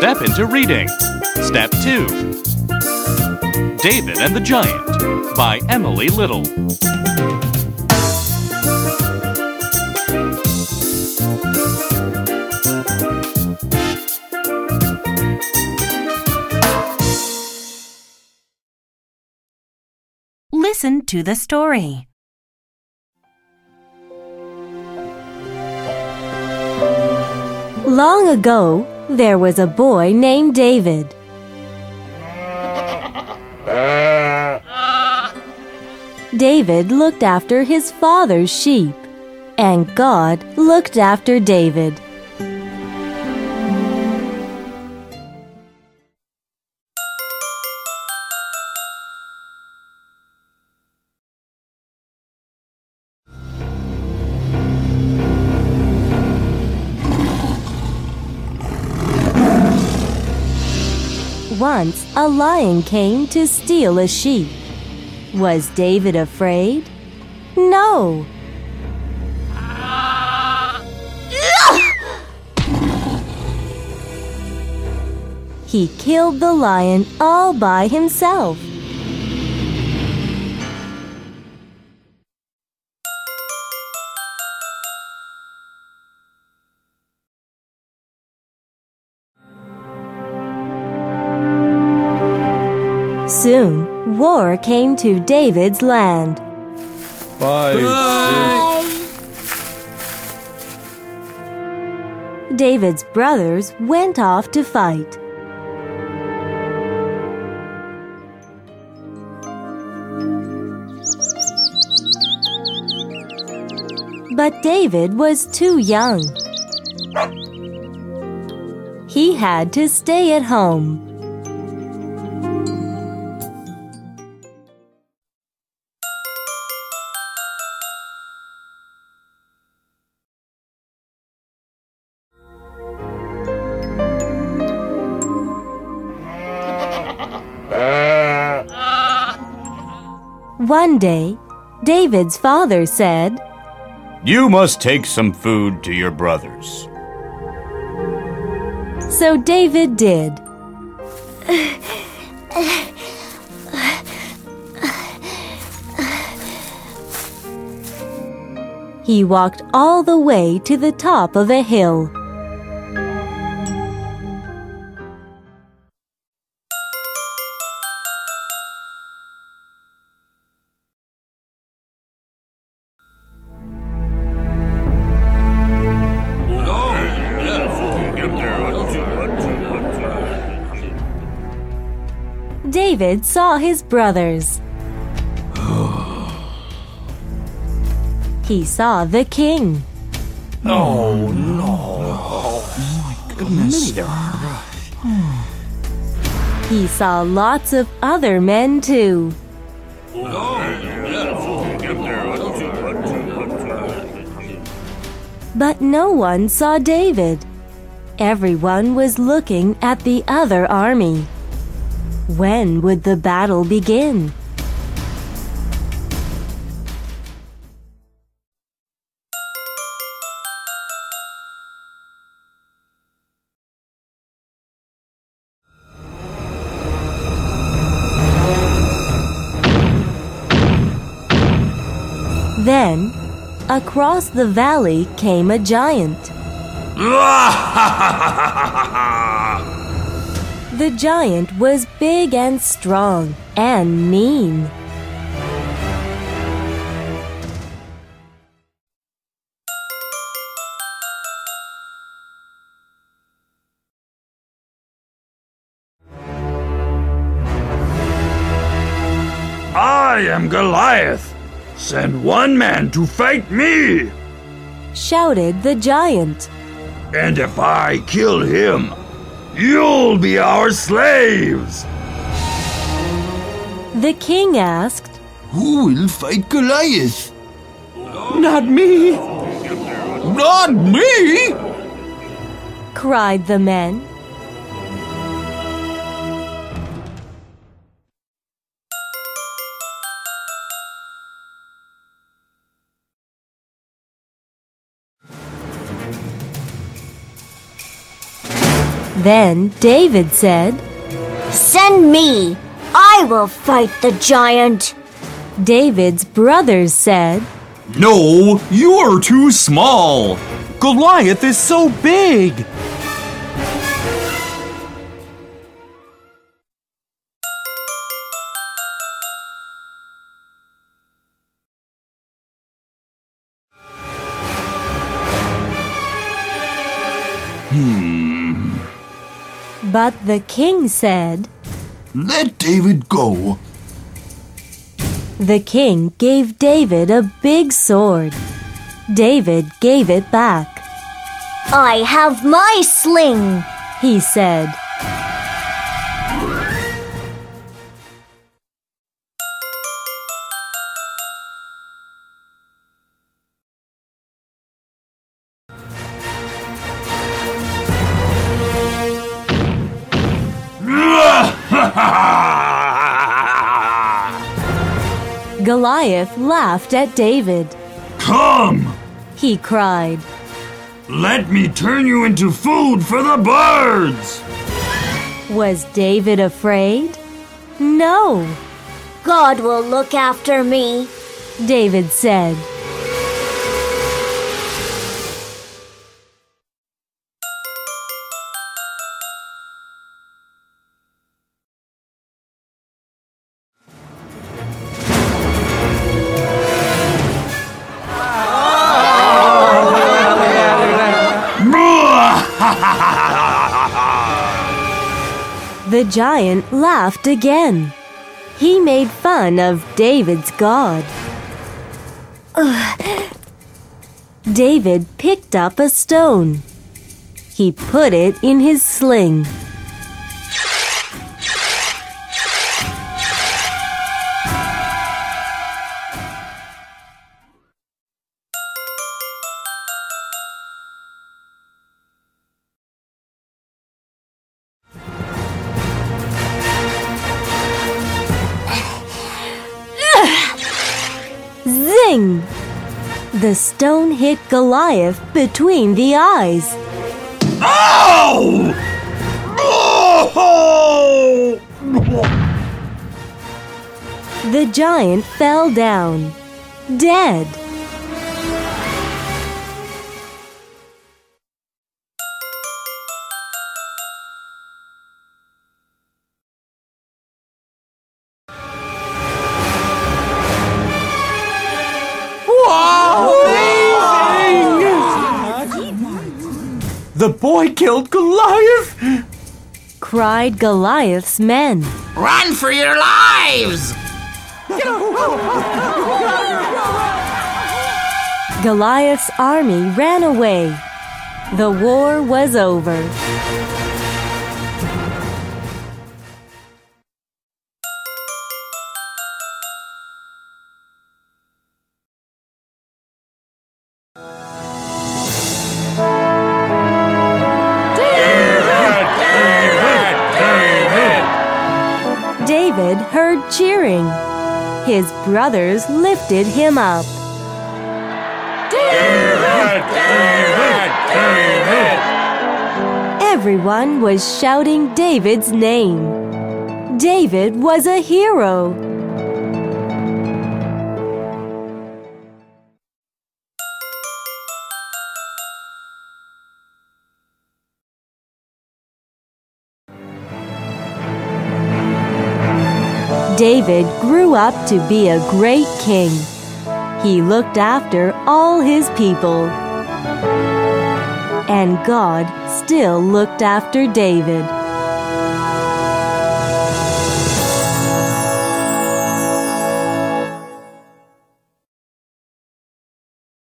step into reading. Step 2. David and the Giant by Emily Little. Listen to the story. Long ago, there was a boy named David. David looked after his father's sheep, and God looked after David. Once a lion came to steal a sheep. Was David afraid? No. He killed the lion all by himself. Soon, war came to David's land. 5, 6. David's brothers went off to fight. But David was too young. He had to stay at home. One day, David's father said, "You must take some food to your brothers." So David did. He walked all the way to the top of a hill. David saw his brothers. He saw the king. Oh, no. Oh, my goodness. He saw lots of other men too. But no one saw David. Everyone was looking at the other army. When would the battle begin? Then, across the valley came a giant. The giant was big and strong and mean. I am Goliath. Send one man to fight me. Shouted the giant. And if I kill him, you'll be our slaves. The king asked, "Who will fight Goliath?" Not me. "Not me!" cried the men. Then David said, "Send me. I will fight the giant." David's brothers said, No, you're too small. Goliath is so big. But the king said, Let David go. The king gave David a big sword. David gave it back. "I have my sling," He said, Goliath laughed at David. Come! He cried, Let me turn you into food for the birds! Was David afraid? No, "God will look after me." David said. The giant laughed again. He made fun of David's God. David picked up a stone. He put it in his sling. Zing! The stone hit Goliath between the eyes. Ow! Oh! The giant fell down, dead. The boy killed Goliath! Cried Goliath's men. Run for your lives! Goliath's army ran away. The war was over. David heard cheering. His brothers lifted him up. Everyone was shouting David's name. David was a hero. David grew up to be a great king. He looked after all his people. And God still looked after David.